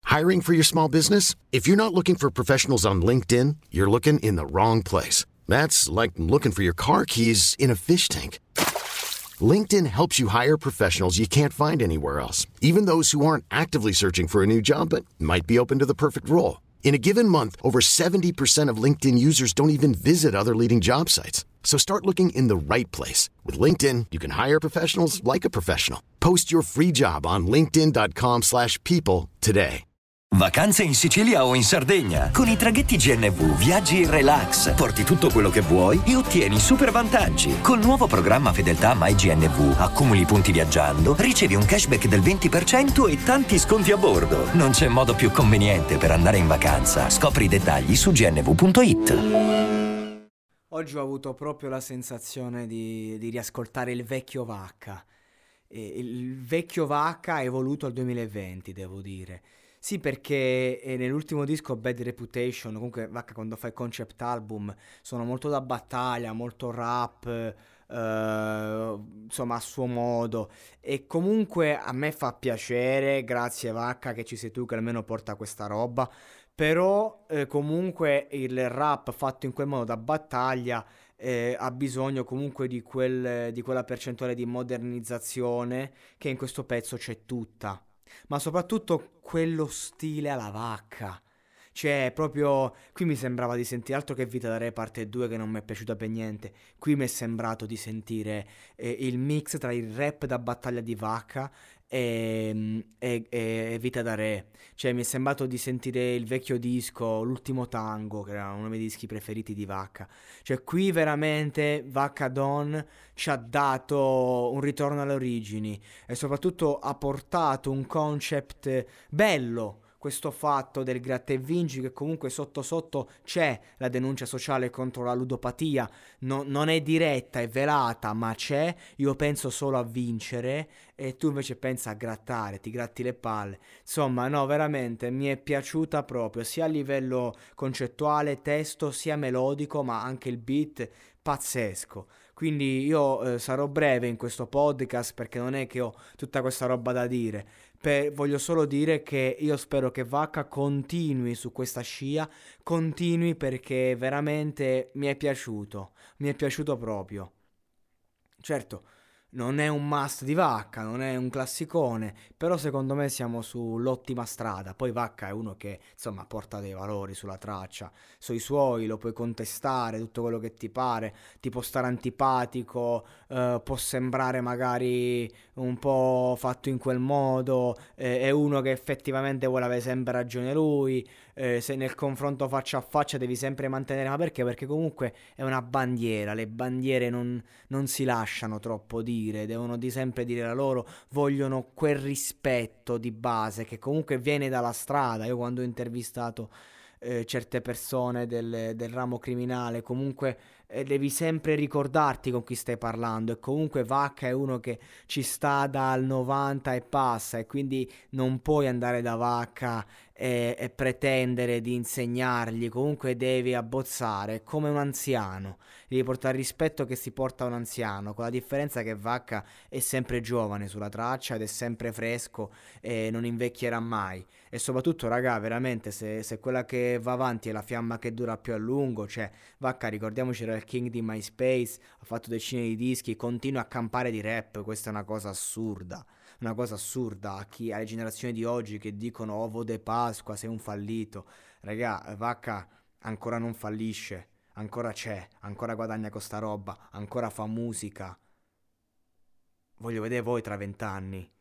Hiring for your small business? If you're not looking for professionals on LinkedIn, you're looking in the wrong place. That's like looking for your car keys in a fish tank. LinkedIn helps you hire professionals you can't find anywhere else, even those who aren't actively searching for a new job but might be open to the perfect role. In a given month, over 70% of LinkedIn users don't even visit other leading job sites. So start looking in the right place. With LinkedIn, you can hire professionals like a professional. Post your free job on linkedin.com/people today. Vacanze in Sicilia o in Sardegna. Con i traghetti GNV viaggi in relax, porti tutto quello che vuoi e ottieni super vantaggi. Col nuovo programma Fedeltà MyGNV accumuli punti viaggiando, ricevi un cashback del 20% e tanti sconti a bordo. Non c'è modo più conveniente per andare in vacanza. Scopri i dettagli su gnv.it. Oggi ho avuto proprio la sensazione di riascoltare il vecchio Vacca. Il vecchio Vacca evoluto al 2020, devo dire. Sì, perché nell'ultimo disco Bad Reputation, comunque Vacca quando fa i concept album sono molto da battaglia, molto rap, insomma a suo modo, e comunque a me fa piacere, grazie Vacca che ci sei tu che almeno porta questa roba, però comunque il rap fatto in quel modo da battaglia ha bisogno comunque di quella percentuale di modernizzazione che in questo pezzo c'è tutta. Ma soprattutto quello stile alla Vacca. Cioè, proprio qui mi sembrava di sentire altro che Vita da Re parte 2 che non mi è piaciuta per niente. Qui mi è sembrato di sentire il mix tra il rap da battaglia di Vacca e Vita da Re. Cioè, mi è sembrato di sentire il vecchio disco, L'ultimo tango, che era uno dei miei dischi preferiti di Vacca. Cioè, qui veramente Vacca Don ci ha dato un ritorno alle origini e soprattutto ha portato un concept bello. Questo fatto del gratta e vinci, che comunque sotto sotto c'è la denuncia sociale contro la ludopatia, non è diretta, è velata, ma c'è. Io penso solo a vincere e tu invece pensa a grattare, ti gratti le palle. Insomma, no, veramente mi è piaciuta proprio, sia a livello concettuale, testo, sia melodico, ma anche il beat pazzesco. Quindi io sarò breve in questo podcast perché non è che ho tutta questa roba da dire. Voglio solo dire che io spero che Vacca continui su questa scia, continui perché veramente mi è piaciuto proprio. Certo, non è un must di Vacca, non è un classicone, però secondo me siamo sull'ottima strada. Poi Vacca è uno che insomma porta dei valori sulla traccia, sui suoi lo puoi contestare, tutto quello che ti pare, ti può stare antipatico, può sembrare magari un po' fatto in quel modo, è uno che effettivamente vuole avere sempre ragione lui, se nel confronto faccia a faccia devi sempre mantenere, ma perché? Perché comunque è una bandiera, le bandiere non si lasciano troppo dire, devono di sempre dire la loro, vogliono quel rispetto di base che comunque viene dalla strada. Io quando ho intervistato certe persone del ramo criminale, comunque devi sempre ricordarti con chi stai parlando, e comunque Vacca è uno che ci sta dal 90 e passa, e quindi non puoi andare da Vacca e pretendere di insegnargli, comunque devi abbozzare, è come un anziano, devi portare il rispetto che si porta a un anziano, con la differenza che Vacca è sempre giovane sulla traccia ed è sempre fresco e non invecchierà mai. E soprattutto, raga, veramente, se quella che va avanti è la fiamma che dura più a lungo, cioè Vacca, ricordiamoci, era il king di MySpace, ha fatto decine di dischi, continua a campare di rap, questa è una cosa assurda. Una cosa assurda alle generazioni di oggi che dicono ovo de Pasqua, sei un fallito. Raga, Vacca ancora non fallisce, ancora c'è, ancora guadagna con sta roba, ancora fa musica. Voglio vedere voi tra 20 anni.